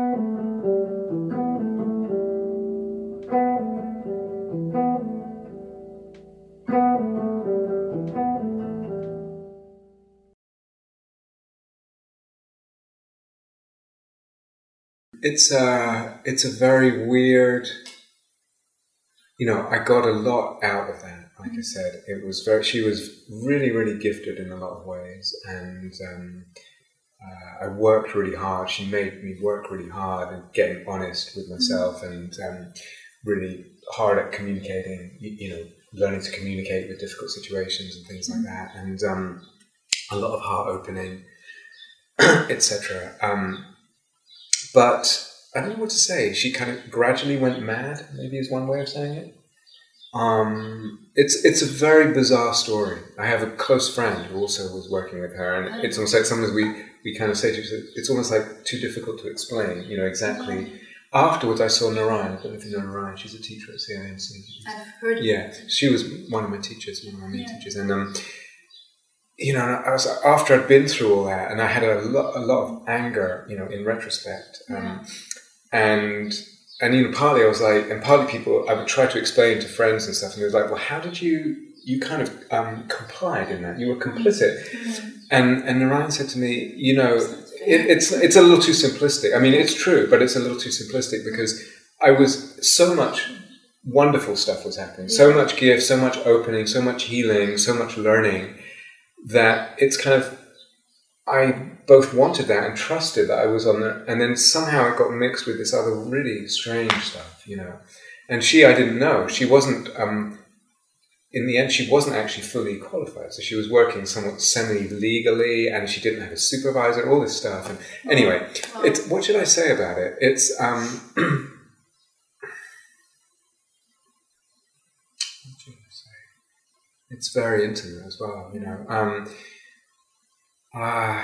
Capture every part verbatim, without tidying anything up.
It's a, it's a very weird, you know, I got a lot out of that. Like I said, it was very, she was really, really gifted in a lot of ways. And um, uh, I worked really hard. She made me work really hard and getting honest with myself and um, really hard at communicating, you, you know, learning to communicate with difficult situations and things like that. And um, a lot of heart opening, et cetera. Um, But I don't know what to say. She kind of gradually went mad, maybe is one way of saying it. Um, it's it's a very bizarre story. I have a close friend who also was working with her, and it's almost like sometimes we, we kind of say to each other, it's almost like too difficult to explain, you know, exactly. Afterwards, I saw Narayan. I don't know if you know Narayan. She's a teacher at C I M C. I've heard of Yeah, it. she was one of my teachers, one of my main Yeah. teachers. And, um, you know, I was, after I'd been through all that, and I had a lot, a lot of anger, you know, in retrospect. Um, Yeah. And, and, you know, partly I was like, and partly people, I would try to explain to friends and stuff, and they was like, well, how did you, you kind of um, complied in that? You were complicit. Mm-hmm. And, and Narayan said to me, you know, it, it's, it's a little too simplistic. I mean, it's true, but it's a little too simplistic because I was, so much wonderful stuff was happening, so much gift, so much opening, so much healing, so much learning, that it's kind of, I both wanted that and trusted that I was on the, and then somehow it got mixed with this other really strange stuff, you know. And she, I didn't know, she wasn't, um, in the end, she wasn't actually fully qualified. So she was working somewhat semi-legally, and she didn't have a supervisor, all this stuff. And anyway, Wow. it's, what should I say about it? It's, um, what should I say? It's very intimate as well, you know. Um, uh,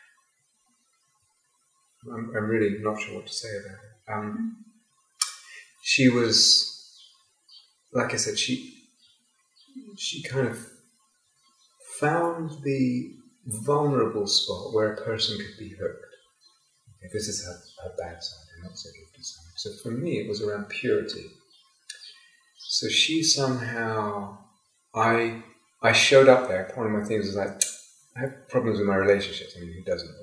I'm, I'm really not sure what to say about it. Um, she was, like I said, she she kind of found the vulnerable spot where a person could be hooked. Okay, this is her, her bad side, her not so gifted side. So for me, it was around purity. So she somehow, I I showed up there. One of my things was like, I have problems with my relationships. I mean, who doesn't?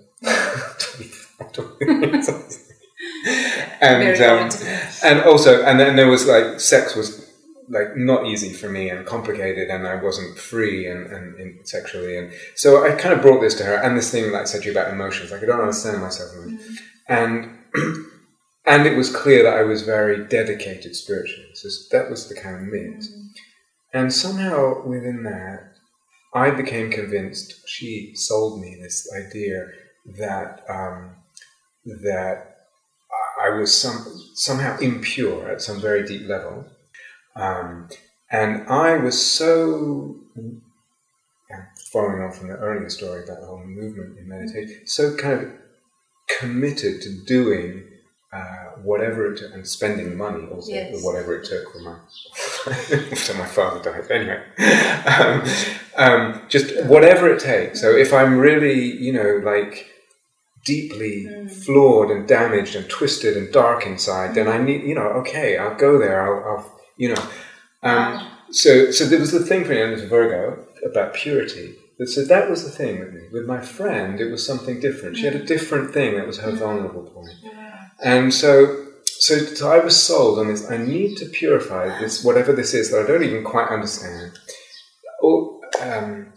and um, and also, and then there was like, sex was like not easy for me and complicated, and I wasn't free and, and, and sexually, and so I kind of brought this to her. And this thing, like I said to you about emotions, like I don't understand myself, mm-hmm. and and it was clear that I was very dedicated spiritually. So that was the kind of mix. Mm-hmm. And somehow within that, I became convinced, she sold me this idea that um, that I was some somehow impure at some very deep level. Um, and I was so, following on from the earlier story about the whole movement in meditation, so kind of committed to doing uh, whatever it took, and spending money also, yes. whatever it took for my, after my father died, anyway. um, um, just whatever it takes. So if I'm really, you know, like deeply mm. flawed and damaged and twisted and dark inside, mm. then I need, you know, okay, I'll go there, I'll, I'll you know. Um, wow. So so there was the thing for me, and it was Virgo, about purity. So that was the thing with me. With my friend, it was something different. She had a different thing that was her vulnerable point. And so, so, so I was sold on this, I need to purify this, whatever this is that I don't even quite understand. Or, um,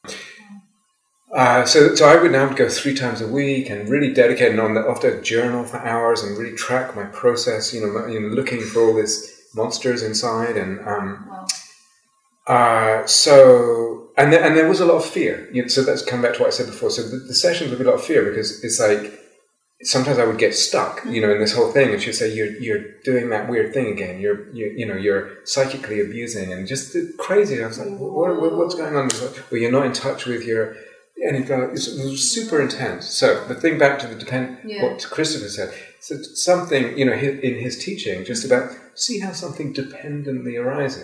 uh, so, so I would now go three times a week and really dedicate, and on the, often journal for hours and really track my process, you know, you know, looking for all this monsters inside. And um, wow. uh, so, and there, and there was a lot of fear. You know, so that's come back to what I said before. So the, the sessions would be a lot of fear, because it's like, sometimes I would get stuck, you know, in this whole thing, and she'd say, "You're you're doing that weird thing again. You're you you know you're psychically abusing," and just crazy. I was like, what, what, "What's going on?" Well, you're not in touch with your, and it was, it was super intense. So the thing back to the depend, yeah. what Christopher said. So something, you know, in his teaching, just about see how something dependently arises.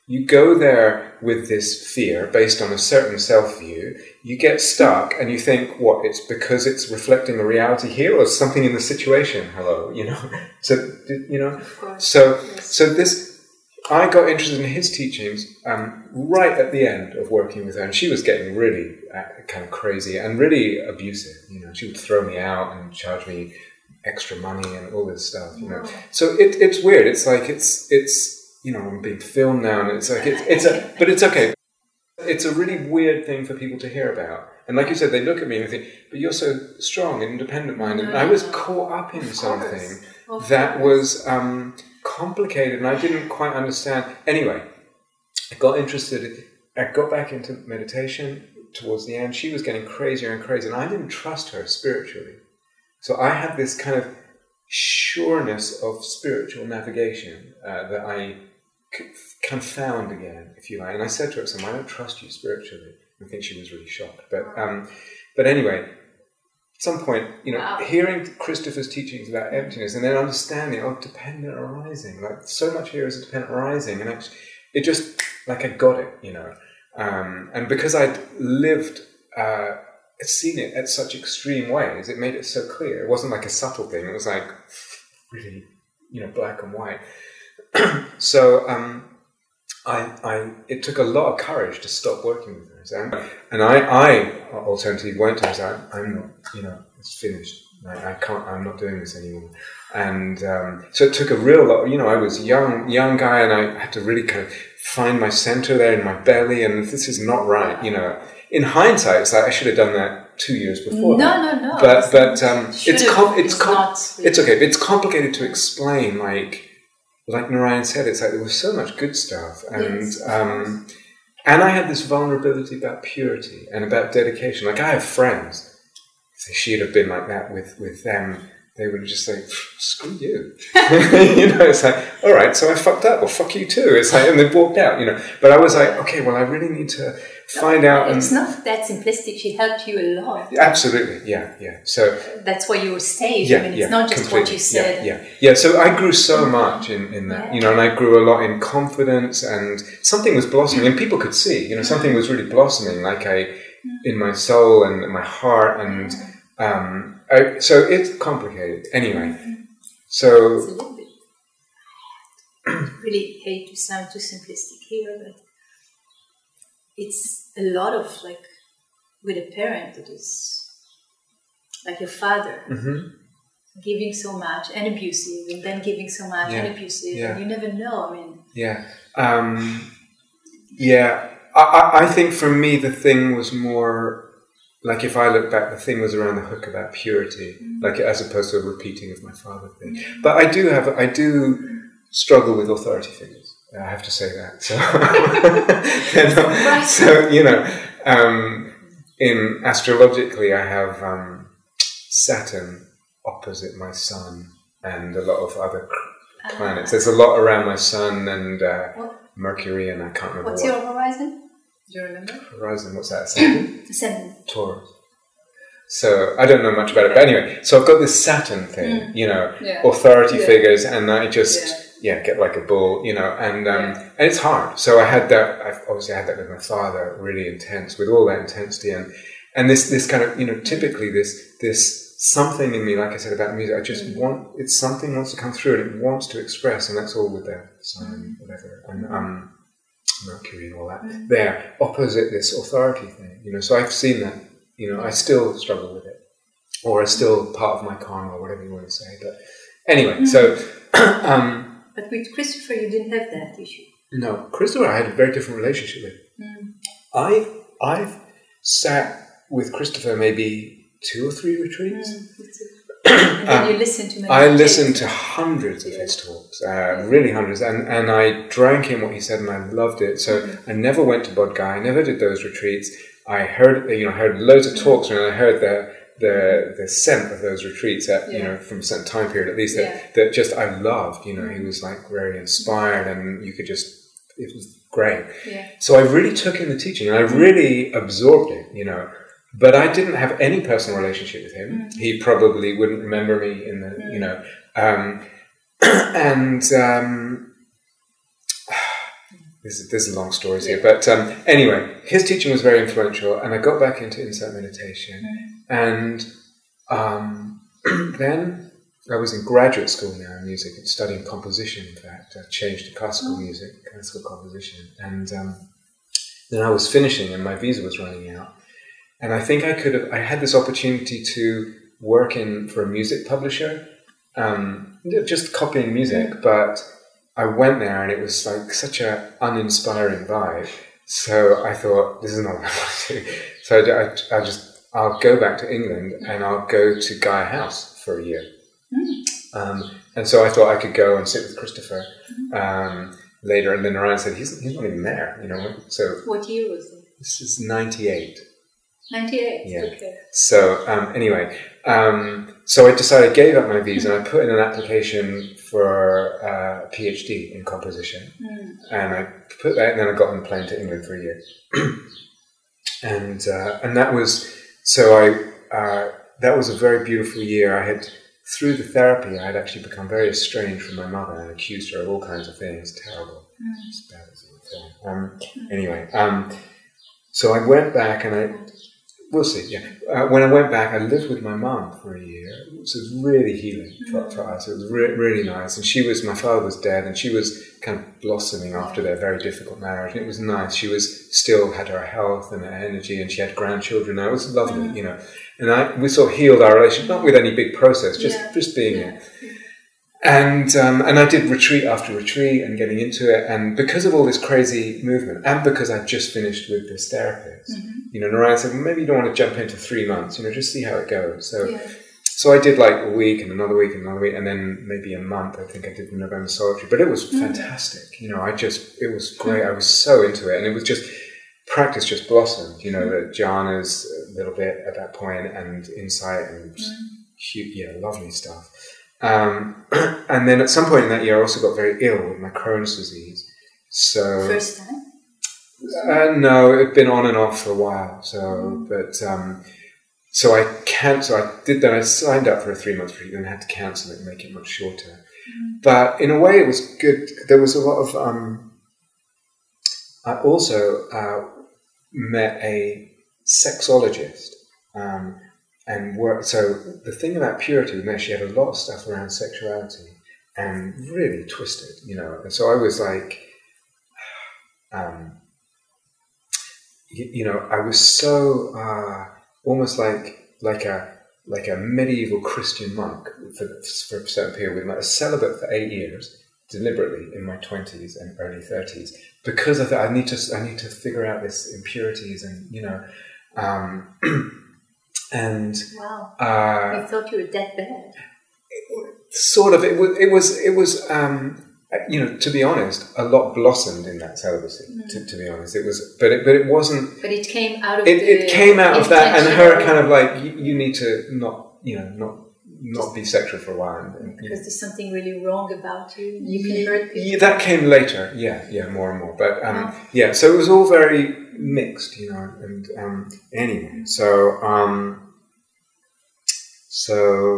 you go there with this fear based on a certain self-view, you get stuck and you think, what, it's because it's reflecting a reality here or something in the situation? Hello, you know? So, you know? So, yes. so this, I got interested in his teachings um, right at the end of working with her, and she was getting really uh, kind of crazy and really abusive, you know? She would throw me out and charge me extra money and all this stuff, you know? Wow. So it, it's weird. It's like, it's, it's, you know, I'm being filmed now, and it's like, it's, it's a, but it's okay. It's a really weird thing for people to hear about. And like you said, they look at me and think, but you're so strong and independent-minded. No, and I was no. caught up in something Of that course. was um, complicated, and I didn't quite understand. Anyway, I got interested, I got back into meditation towards the end. She was getting crazier and crazier, and I didn't trust her spiritually. So I had this kind of sureness of spiritual navigation uh, that I kind of found again, if you like. And I said to her, "I don't trust you spiritually." I think she was really shocked. But um, but anyway, at some point, you know, Wow. hearing Christopher's teachings about emptiness and then understanding, oh, dependent arising, like so much here is a dependent arising, and actually, it just, like I got it, you know. Um, and because I'd lived, uh, seen it at such extreme ways, it made it so clear. It wasn't like a subtle thing. It was like really, you know, black and white. So um, I, I, it took a lot of courage to stop working with her. So, and I, I alternatively went to her and said, I'm not, you know, it's finished. I, I can't, I'm not doing this anymore. And um, so it took a real lot, you know, I was young, young guy, and I had to really kind of find my center there in my belly, and this is not right, you know. In hindsight, it's like I should have done that two years before. No, that. no, no. But, but um, Should it's, have, com- it's, it's com- not really. it's okay, but it's complicated to explain, like, like Narayan said, it's like there was so much good stuff, and Yes, of um, and I had this vulnerability about purity and about dedication. Like I have friends, if she'd have been like that with, with them, they would just say, "Screw you," you know. It's like, all right, so I fucked up. Well, fuck you too. It's like, and they walked out, you know. But I was like, okay, well, I really need to find out. It's and, not that simplistic. She helped you a lot. Absolutely, yeah, yeah. So. That's why you stayed. Yeah, I mean, it's yeah, not just completely. what you said. Yeah, yeah, yeah. So I grew so much in, in that, Yeah. you know, and I grew a lot in confidence, and something was blossoming, and people could see, you know, something was really blossoming, like I, in my soul and in my heart, and um, I, so it's complicated. Anyway, It's so a little bit. Really hate to sound too simplistic here, but it's a lot of like with a parent that is like your father. mhm. Giving so much and abusive, and then giving so much Yeah. and abusive, Yeah. and you never know. I mean, yeah, um, yeah. I, I, I think for me the thing was more. Like if I look back, the thing was around the hook about purity, mm. like as opposed to a repeating of my father thing. Mm. But I do have, I do struggle with authority figures. I have to say that. So, you know, so you know, um, in astrologically, I have um, Saturn opposite my sun and a lot of other planets. There's a lot around my sun and uh, Mercury, and I can't remember. What's what. your horizon? Do you remember? Horizon, what's that? Ascendant? Ascendant. Taurus. So I don't know much about it, but anyway, so I've got this Saturn thing, mm. you know, yeah. authority yeah. figures, and I just yeah. yeah get like a bull, you know, and um, yeah. and it's hard. So I had that. I've obviously had that with my father, really intense, with all that intensity, and and this this kind of you know typically this this something in me, like I said about music, I just mm. want it's something wants to come through and it wants to express, and that's all with that sign, mm. whatever, and um. Mercury and all that, mm. they're opposite this authority thing, you know, so I've seen that, you know, I still struggle with it, or it's still part of my karma, or whatever you want to say, but anyway, mm. so... um, but with Christopher, you didn't have that issue. No, Christopher I had a very different relationship with. Mm. I, I've sat with Christopher maybe two or three retreats. Mm. And then um, you listen to I listened to hundreds of yeah. his talks, uh, yeah. really hundreds, and, and I drank in what he said, and I loved it. So mm-hmm. I never went to Bodh Gaya, I never did those retreats. I heard, you know, heard loads of talks, mm-hmm. and I heard the the the scent of those retreats, at, yeah. you know, from a certain time period at least, that, yeah. that just I loved. You know, mm-hmm. he was like very inspired, and you could just, it was great. Yeah. So I really took in the teaching, and I really absorbed it, you know. But I didn't have any personal relationship with him. Mm. He probably wouldn't remember me in the, mm. you know. Um, and um, there's, there's long stories yeah. here, but um, anyway, his teaching was very influential, and I got back into insight meditation, mm-hmm. and um, then I was in graduate school now in music, studying composition. In fact, I changed to classical oh. music, classical composition, and um, then I was finishing, and my visa was running out, and I think I could have. I had this opportunity to work in for a music publisher, um, just copying music, mm-hmm. but I went there and it was like such an uninspiring vibe. So I thought, this is not what I want to do. So I, I just, I'll go back to England and I'll go to Gaia House for a year. Mm. Um, and so I thought I could go and sit with Christopher um, later. And then Narayan said, he's, he's not even there, you know. So what year was it? This is ninety-eight. ninety-eight, yeah. Okay. So um, anyway, um, so I decided, gave up my visa, and I put in an application for uh, a PhD in composition, mm. and I put that, and then I got on the plane to England for a year, and uh, and that was so I uh, that was a very beautiful year. I had through the therapy, I had actually become very estranged from my mother and accused her of all kinds of things, terrible, mm. as bad as it was. Um, mm. Anyway, um, so I went back and I. We'll see, yeah. Uh, when I went back, I lived with my mum for a year. It was really healing for, for us. It was re- really nice. And she was, my father was dead, and she was kind of blossoming after their very difficult marriage. And it was nice. She was still had her health and her energy, and she had grandchildren now. It was lovely, you know. And I, we sort of healed our relationship, not with any big process, just, yeah. just being yeah. there. And um, and I did retreat after retreat and getting into it, and because of all this crazy movement, and because I just finished with this therapist, mm-hmm. you know, Narayan said, well, maybe you don't want to jump into three months, you know, just see how it goes. So, yeah. so I did like a week and another week and another week, and then maybe a month. I think I did the November Solitary, but it was mm-hmm. fantastic. You know, I just it was great. I was so into it, and it was just practice just blossomed. You know, mm-hmm. the jhanas a little bit at that point, and insight, and mm-hmm. cute, yeah, lovely stuff. Um, and then at some point in that year, I also got very ill with my Crohn's disease. So first time? Uh, no, it had been on and off for a while. So, mm-hmm. but um, so I cancelled. I did that. I signed up for a three month retreat, and had to cancel it and make it much shorter. Mm-hmm. But in a way, it was good. There was a lot of. Um, I also uh, met a sexologist. Um, And work. So the thing about purity with me, she had a lot of stuff around sexuality and really twisted, you know. And so I was like, um, you, you know, I was so uh, almost like like a like a medieval Christian monk for, for a certain period, with like a celibate for eight years, deliberately in my twenties and early thirties, because I thought I need to I need to figure out this impurities and you know. Um, And wow, uh, I thought you were that bad. Sort of. It was. It was. It was. Um, you know, to be honest, a lot blossomed in that celibacy. Mm. To, to be honest, it was. But it. But it wasn't. But it came out of. It, the it came out of that, and her kind of like, you, you need to not. You know, not not be sexual for a while. And, and, because there's something really wrong about you. You can hurt people. Yeah, that came later. Yeah, yeah, more and more. But um, oh. yeah, so it was all very mixed, you know. And um, anyway, so um, so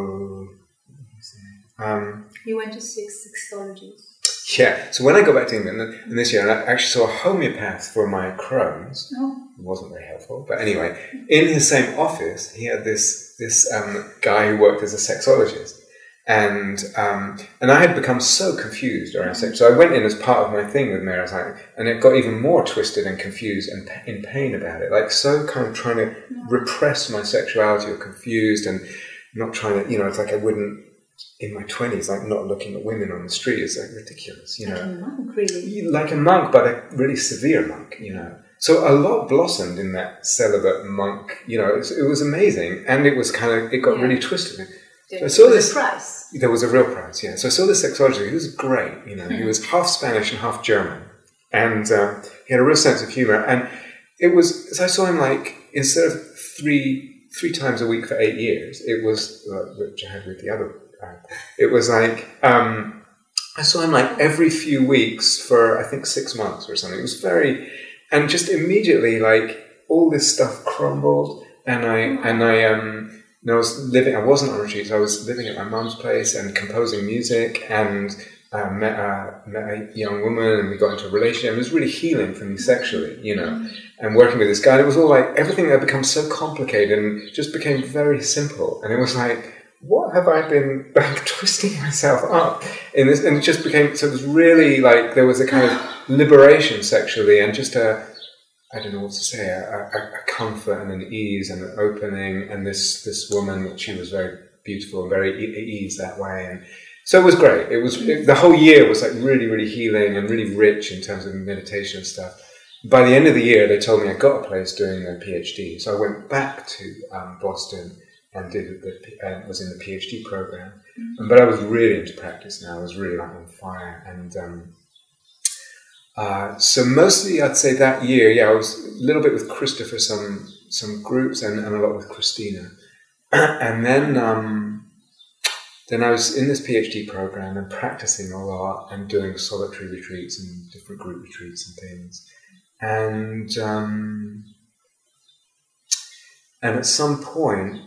um, you went to six sexologies. Yeah. So when I got back to England, and this year, I actually saw a homeopath for my Crohn's. Oh. It wasn't very helpful, but anyway, in his same office, he had this this um, guy who worked as a sexologist. And um, and I had become so confused around sex. So I went in as part of my thing with Mary, and it got even more twisted and confused and in pain about it. Like so kind of trying to repress my sexuality or confused and not trying to, you know, it's like I wouldn't, in my twenties, like not looking at women on the street is like ridiculous, you know. Like a monk, really. Like a monk, but a really severe monk, you know. So a lot blossomed in that celibate monk, you know, it was, it was amazing. And it was kind of, it got yeah. really twisted. There so I saw was this, a price. There was a real price, yeah. So I saw this sexologist. He was great, you know. He was half Spanish and half German, and um, he had a real sense of humor. And it was, so I saw him like instead of three three times a week for eight years, it was uh, which I had with the other. Uh, it was like um, I saw him like every few weeks for I think six months or something. It was very, and just immediately like all this stuff crumbled, and I mm-hmm. and I um. And I was living, I wasn't on retreats, I was living at my mum's place and composing music, and uh, met, uh, met a young woman, and we got into a relationship. It was really healing for me sexually, you know. Mm-hmm. And working with this guy, it was all like everything had become so complicated and just became very simple. And it was like, what have I been like twisting myself up in this? And it just became, so it was really like, there was a kind of liberation sexually and just a, I don't know what to say, a, a, a comfort and an ease and an opening. And this, this woman, she was very beautiful and very e- ease that way. And so it was great. It was, it, the whole year was like really, really healing and really rich in terms of meditation and stuff. By the end of the year, they told me I got a place doing a PhD. So I went back to um, Boston and did the, uh, was in the PhD program. Mm-hmm. But I was really into practice now. I was really like on fire. And um, uh, so mostly I'd say that year, yeah, I was a little bit with Christopher, some some groups, and, and a lot with Christina. And then um, then I was in this PhD program and practicing a lot and doing solitary retreats and different group retreats and things. And um, and at some point,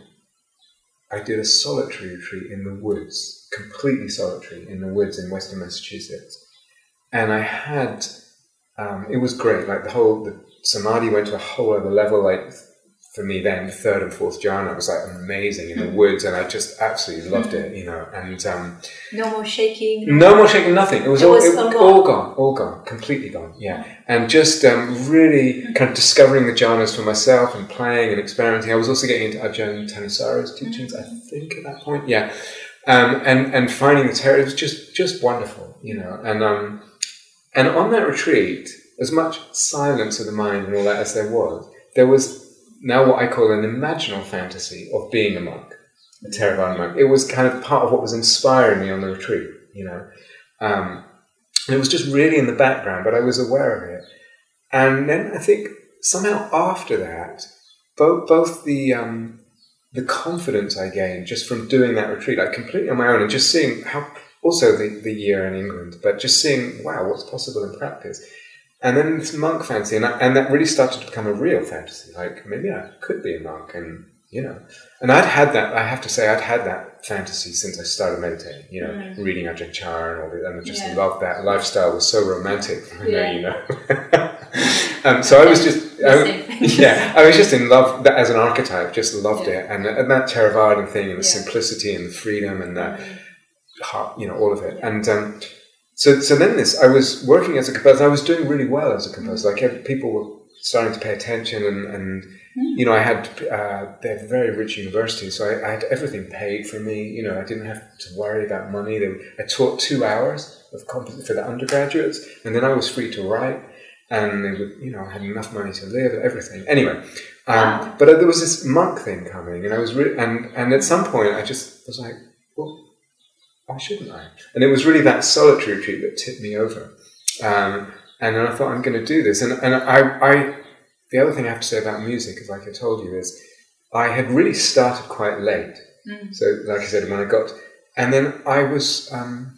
I did a solitary retreat in the woods, completely solitary, in the woods in Western Massachusetts. And I had, um, it was great, like the whole, the samadhi went to a whole other level, like for me then, the third and fourth jhana was like amazing in the woods, and I just absolutely loved it, you know, and... Um, no more shaking? No more shaking, nothing. It was, it all, was it, all, all gone, all gone, completely gone, yeah. And just um, really kind of discovering the jhanas for myself and playing and experimenting. I was also getting into Ajahn Thanissara's teachings, I think, at that point, yeah. Um, and, and finding the terror, it was just, just wonderful, you know. And, um, and on that retreat, as much silence of the mind and all that as there was, there was now what I call an imaginal fantasy of being a monk, a Theravada monk. It was kind of part of what was inspiring me on the retreat, you know. Um, and it was just really in the background, but I was aware of it. And then I think somehow after that, both both the um, the confidence I gained just from doing that retreat, like completely on my own, and just seeing how, also the, the year in England, but just seeing, wow, what's possible in practice. And then this monk fantasy, and, I, and that really started to become a real fantasy. Like, maybe I could be a monk, and, you know. And I'd had that, I have to say, I'd had that fantasy since I started meditating, you know, mm. reading Ajahn Chah and all that, and I just yeah. loved that. Lifestyle was so romantic, I know, yeah. you know. um, so I was just, I, yeah, I was just in love, that as an archetype, just loved yeah. it. And, and that Theravada thing, and the yeah. simplicity, and the freedom, and the mm. heart, you know, all of it. Yeah. And, um, So, so then this, I was working as a composer. I was doing really well as a composer. Like, people were starting to pay attention, and, and mm. you know, I had, uh, they have a very rich university, so I, I had everything paid for me. You know, I didn't have to worry about money. They, I taught two hours of comp- for the undergraduates, and then I was free to write, and they would, you know, I had enough money to live, everything. Anyway, um, wow. but there was this monk thing coming, and I was really, and, and at some point I just was like, well, why shouldn't I? And it was really that solitary retreat that tipped me over. Um, and then I thought, I'm going to do this. And, and I, I, the other thing I have to say about music, is like I told you, is I had really started quite late. Mm. So, like I said, when I got, and then I was, um,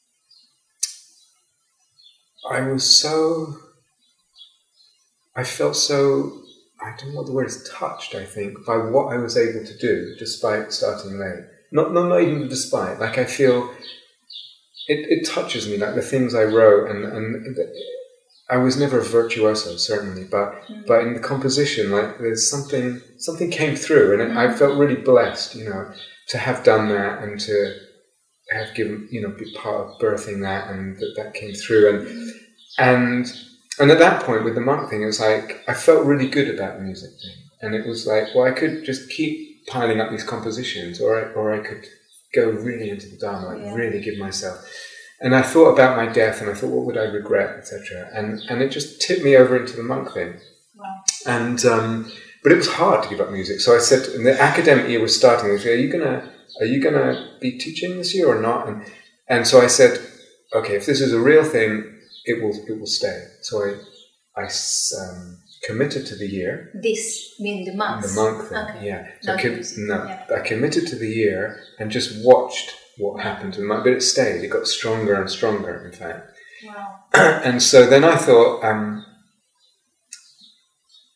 I was so, I felt so, I don't know what the word is, touched, I think, by what I was able to do despite starting late. Not, not, not even despite. Like, I feel it, it touches me, like the things I wrote, and, and I was never a virtuoso, certainly, but mm. but in the composition, like, there's something something came through, and it, mm. I felt really blessed, you know, to have done that and to have given, you know, be part of birthing that, and that that came through, and mm. and and at that point with the monk thing, it was like I felt really good about the music thing, and it was like, well, I could just keep piling up these compositions, or I, or I could go really into the Dharma, like yeah. really give myself. And I thought about my death, and I thought, what would I regret, et cetera. And and it just tipped me over into the monk thing. Wow. And um, but it was hard to give up music. So I said, and the academic year was starting. They said, are you gonna are you gonna be teaching this year or not? And and so I said, okay, if this is a real thing, it will it will stay. So I I um, committed to the year. This means the monk. The monk thing, okay. yeah. So I, com- no, yeah. I committed to the year and just watched what happened to the monk, but it stayed. It got stronger and stronger, in fact. Wow. And so then I thought, um,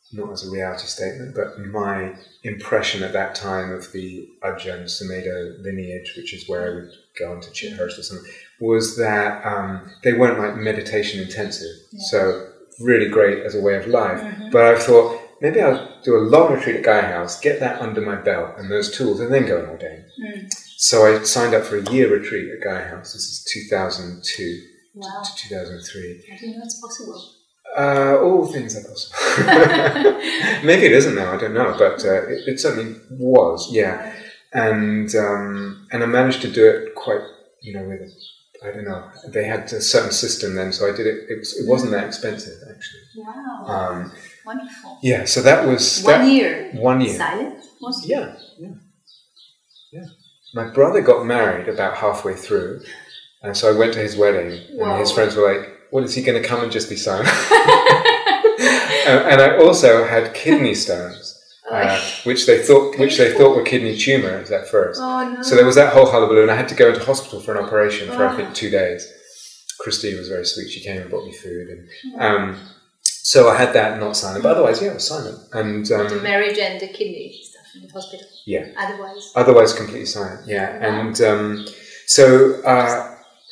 not as a reality statement, but my impression at that time of the Ajahn Sumedho lineage, which is where I would go into Chithurst or something, was that um, they weren't like meditation intensive. Yeah. So really great as a way of life. Mm-hmm. But I thought, maybe I'll do a long retreat at Gaia House, get that under my belt and those tools, and then go and ordain. Mm. So I signed up for a year retreat at Gaia House. This is two thousand two wow. to two thousand three. I didn't know it's possible. Uh, all things are possible. Maybe it isn't now, I don't know, but uh, it, it certainly was, yeah. And um, and I managed to do it quite, you know, with, I don't know, they had a certain system then, so I did it, it, was, it wasn't that expensive, actually. Wow. Um, Wonderful. Yeah, so that was... One that, year. One year. Silent, mostly? Yeah, yeah, yeah. My brother got married about halfway through, and so I went to his wedding, Whoa. and his friends were like, "What, is he going to come and just be silent?" and, and I also had kidney stones, uh, which they thought which they thought were kidney tumours at first. Oh, no. So there was that whole hullabaloo, and I had to go into hospital for an operation for oh. I think two days. Christine was very sweet; she came and brought me food, and um, so I had that not silent. But otherwise, yeah, I was silent. And um, the marriage and the kidney stuff in the hospital. Yeah. Otherwise. Otherwise, completely silent. Yeah, wow. and um, so. Uh,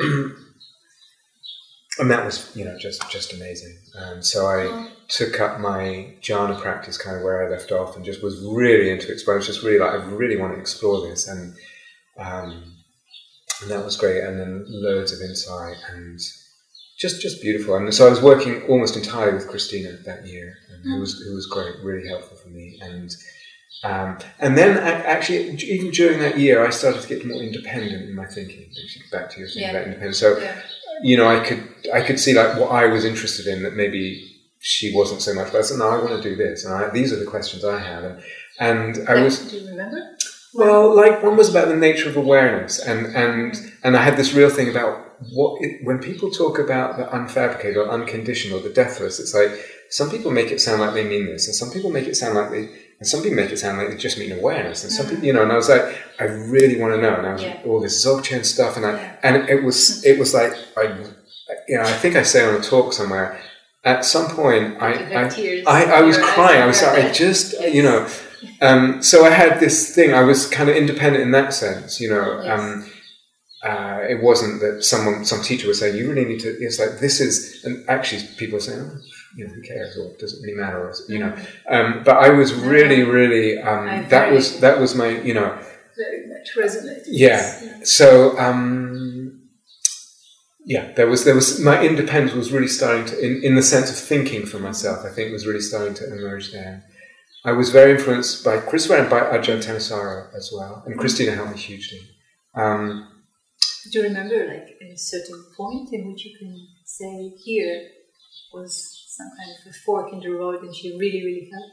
And that was, you know, just, just amazing. Um, so I oh. took up my jhana practice kind of where I left off and just was really into it. So I was just really like, I really want to explore this. And, um, and that was great. And then loads of insight and just, just beautiful. And so I was working almost entirely with Christina that year, and mm. who was, who was great, really helpful for me. And, um, and then I, actually, even during that year, I started to get more independent in my thinking. Back to your thing yeah. about independence. So, yeah. you know, I could I could see like what I was interested in that maybe she wasn't so much. But I said, no, I want to do this, and I, these are the questions I have. And and I was. Do you remember? Well, like one was about the nature of awareness, and and and I had this real thing about what it, when people talk about the unfabricated or unconditional, the deathless. It's like some people make it sound like they mean this, and some people make it sound like they. And some people make it sound like they just mean awareness, and some people, you know. And I was like, I really want to know. And I was yeah. all this Dzogchen stuff, and I, yeah. and it was, it was like, I, you know, I think I say on a talk somewhere. At some point, I, I, I, I was crying. I was like, I just, yes. you know. Um, so I had this thing. I was kind of independent in that sense, you know. Yes. Um, uh, it wasn't that someone, some teacher was saying, you really need to. It's like this is, and actually, people are saying. Oh, you know, who cares, or does it really matter, or, you know, um, but I was really, really, um, that was, that was my, you know, very much resonated. Yeah. yeah. So, um, yeah, there was, there was, my independence was really starting to, in, in the sense of thinking for myself, I think was really starting to emerge there. I was very influenced by Christopher and by Ajahn Thanissaro as well, and Christina helped me hugely. Um, Do you remember, like, a certain point in which you can say, here was some kind of a fork in the road, and she really, really helped?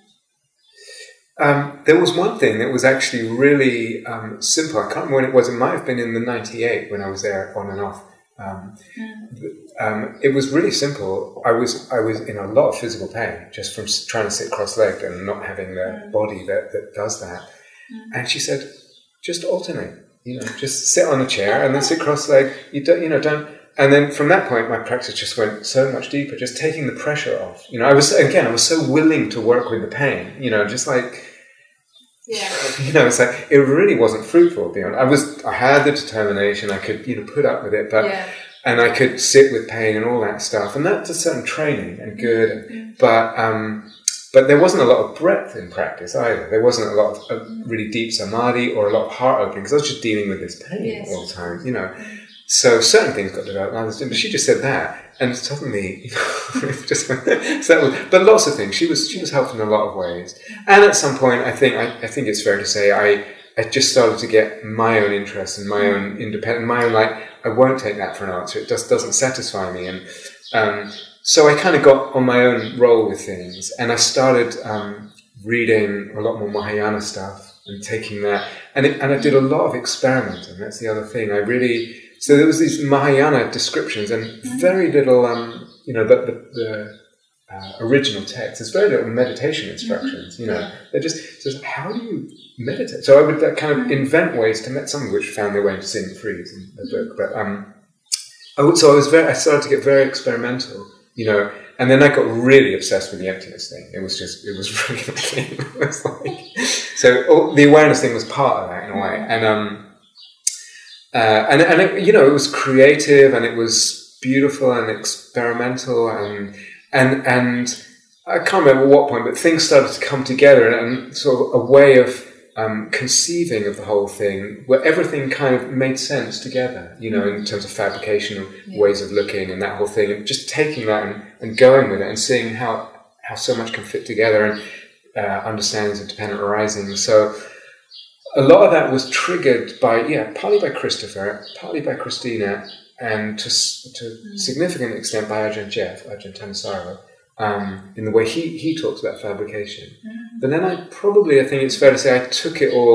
Um, there was one thing that was actually really um, simple. I can't remember when it was. It might have been in the ninety-eight when I was there on and off. Um, mm. um, it was really simple. I was I was in a lot of physical pain just from trying to sit cross-legged and not having the mm. body that, that does that. Mm. And she said, just alternate. You know, just sit on a chair and then sit cross-legged. You don't, you know, don't. And then from that point, my practice just went so much deeper, just taking the pressure off. You know, I was, again, I was so willing to work with the pain, you know, just like, yeah. you know, it's like, it really wasn't fruitful, to be honest. I was, I had the determination, I could, you know, put up with it, but, yeah. and I could sit with pain and all that stuff. And that's a certain training and good. Mm-hmm. But, um, but there wasn't a lot of breadth in practice either. There wasn't a lot of uh, really deep samadhi or a lot of heart opening, because I was just dealing with this pain yes. all the time, you know. So certain things got developed, and others didn't. But she just said that, and suddenly, you know, it just so that was. But lots of things. She was she was helpful in a lot of ways. And at some point, I think I, I think it's fair to say I I just started to get my own interest and my own independent, my own like I won't take that for an answer. It just doesn't satisfy me, and um, so I kind of got on my own roll with things, and I started um, reading a lot more Mahayana stuff and taking that, and it, and I did a lot of experimenting. That's the other thing. I really. So there was these Mahayana descriptions and very little, um, you know, the, the, the uh, original text. There's very little meditation instructions, you know. They're just, just how do you meditate? So I would uh, kind of invent ways to meditate, some of which found their way into Seeing the Freeze in the book. But um, I would, so I was very, I started to get very experimental, you know, And then I got really obsessed with the emptiness thing. It was just, it was really the thing. It was like, so all, the awareness thing was part of that in a way. And, um, uh, and, and it, you know, it was creative and it was beautiful and experimental and, and, and I can't remember what point, but things started to come together and, and sort of a way of, Um, conceiving of the whole thing, where everything kind of made sense together, you know, in terms of fabrication and yeah. ways of looking and that whole thing, and just taking that and, and going with it and seeing how, how so much can fit together and uh, understandings of dependent arising. So a lot of that was triggered by, yeah, partly by Christopher, partly by Christina, and to to mm. significant extent by Ajahn Jeff, Ajahn Thanissaro. Um, in the way he, he talks about fabrication. Mm-hmm. But then I probably, I think it's fair to say, I took it all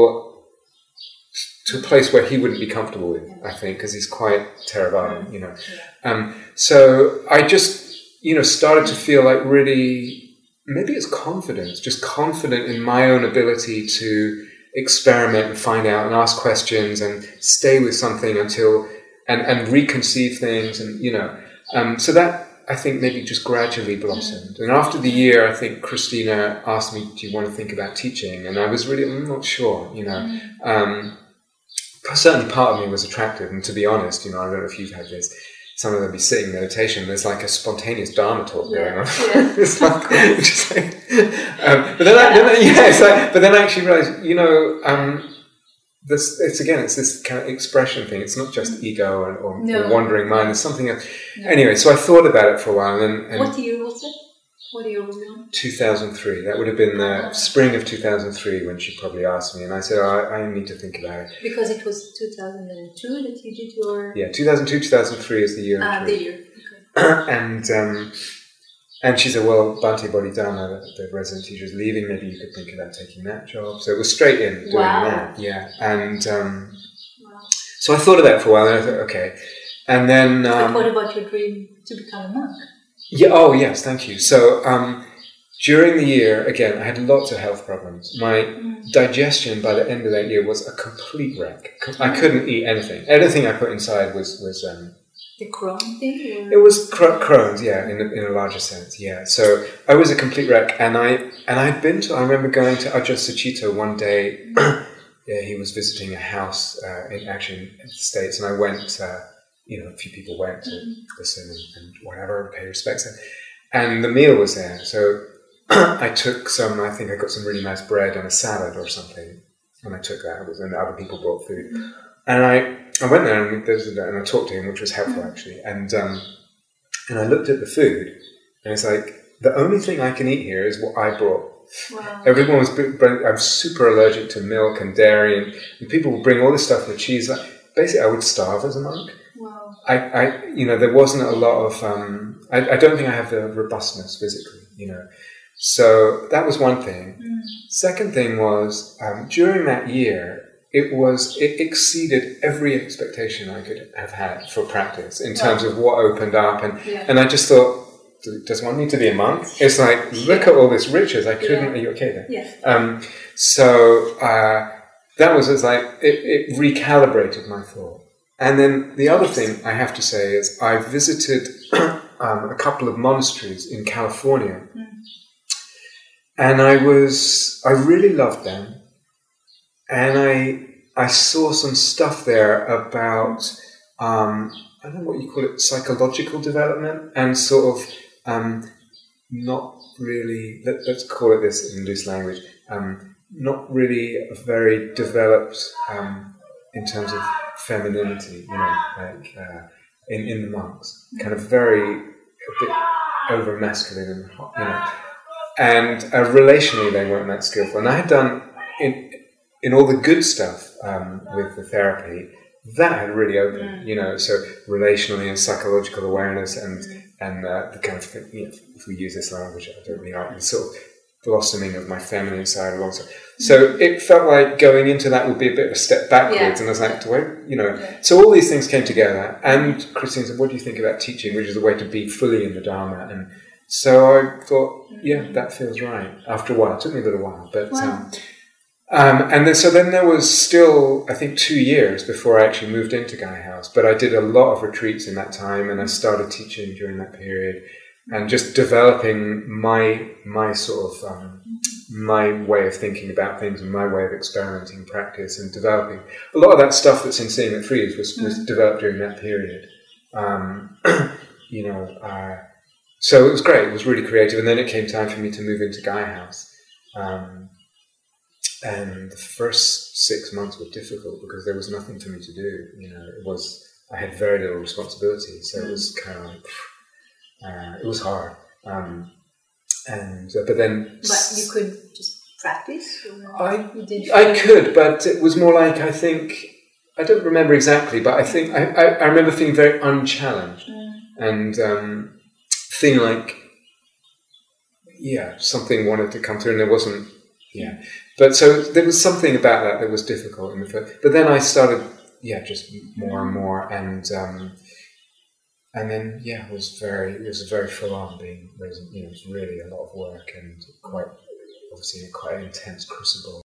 to a place where he wouldn't be comfortable with, I think, because he's quite Theravada, you know. Yeah. Um, so I just, you know, started to feel like really, maybe it's confidence, just confident in my own ability to experiment and find out and ask questions and stay with something until, and, and reconceive things and, you know. Um, so that, I think maybe just gradually blossomed. And after the year, I think Christina asked me, do you want to think about teaching? And I was really, I'm not sure, you know. Um, certainly part of me was attracted. And to be honest, you know, I don't know if you've had this, some of them be sitting meditation, there's like a spontaneous Dharma talk yeah. going on. Yeah. It's like, just like um, but then, I, then I, yeah, it's like, but then I actually realized, you know, um, This, it's again, it's this kind of expression thing. It's not just ego or, or, no. or wandering mind. There's something else. No. Anyway, so I thought about it for a while. And, and what year was it? What year was it? two thousand three. That would have been the spring of two thousand three when she probably asked me. And I said, oh, I, I need to think about it. Because it was two thousand two that you did your... Yeah, two thousand two, two thousand three is the year. Ah, the year. Okay. and... Um, And she said, well, Bhante Bodhidharma, the, the resident teacher, is leaving. Maybe you could think about taking that job. So it was straight in doing wow. that. Yeah. And um, wow. so I thought of that for a while. And I thought, okay. And then... Um, but what about your dream to become a monk? Yeah. Oh, yes. Thank you. So um, during the year, again, I had lots of health problems. My mm. digestion by the end of that year was a complete wreck. I couldn't eat anything. Anything I put inside was... was um, The Crohn thing? Or? It was cr- Crohn's, yeah, in a, in a larger sense, yeah. So I was a complete wreck, and I and I'd been to. I remember going to Ajahn Sucitto one day. Yeah, he was visiting a house uh, in actually in the States, and I went. Uh, you know, a few people went to listen and, and whatever, pay respects, and, and the meal was there. So I took some. I think I got some really nice bread and a salad or something, and I took that. It was, and other people brought food, and I. I went there and, and I talked to him, which was helpful actually. And um, and I looked at the food, and it's like the only thing I can eat here is what I brought. Wow. Everyone was. I'm super allergic to milk and dairy, and, and people would bring all this stuff with cheese. Like, basically, I would starve as a monk. Wow. I, I, you know, there wasn't a lot of. Um, I, I don't think I have the robustness physically. You know, so that was one thing. Mm. Second thing was um, during that year. It was, it exceeded every expectation I could have had for practice in terms wow. of what opened up. And, yeah. and I just thought, does one need to be a monk? It's like, look at all this riches. I couldn't, yeah. Are you okay there? Yeah. Um, so, uh, that was, it's like, it, it recalibrated my thought. And then the other thing I have to say is I visited um, a couple of monasteries in California. Mm. And I was, I really loved them. And I I saw some stuff there about, um, I don't know what you call it, psychological development and sort of um, not really, let, let's call it this in loose language, um, not really very developed um, in terms of femininity, you know, like uh, in, in the monks. Kind of very, a bit over masculine and hot, you know. And uh, relationally they weren't that skillful. And I had done... in. In all the good stuff um, with the therapy, that had really opened, mm. you know, so relationally and psychological awareness and mm. and uh, the kind of, you know, if we use this language, I don't really like the sort of blossoming of my feminine side alongside. Mm. So it felt like going into that would be a bit of a step backwards, yeah. and I was like, do I, you know, yeah. so all these things came together. And Christine said, what do you think about teaching, which is a way to be fully in the Dharma? And so I thought, yeah, that feels right. After a while, it took me a little while, but. Wow. Um, Um, and then, so then there was still, I think, two years before I actually moved into Gaia House. But I did a lot of retreats in that time, and I started teaching during that period. and just developing my my sort of um, my way of thinking about things and my way of experimenting practice and developing a lot of that stuff that's in Seeing at Frieze was, was developed during that period. Um, you know, uh, so it was great. It was really creative, and then it came time for me to move into Gaia House. Um, and the first six months were difficult because there was nothing for me to do. You know, it was I had very little responsibility, so it was kind of like uh, it was hard. Um, and uh, but then, but you could just practice. Or I you did I could, but it was more like I think I don't remember exactly, but I think I I, I remember feeling very unchallenged Mm. and um, feeling like yeah something wanted to come through, and there wasn't. Yeah, but so there was something about that that was difficult in the first. But then I started, yeah, just more and more, and um, and then yeah, it was very, it was very full on being, you know, it was really a lot of work and quite obviously quite an intense crucible.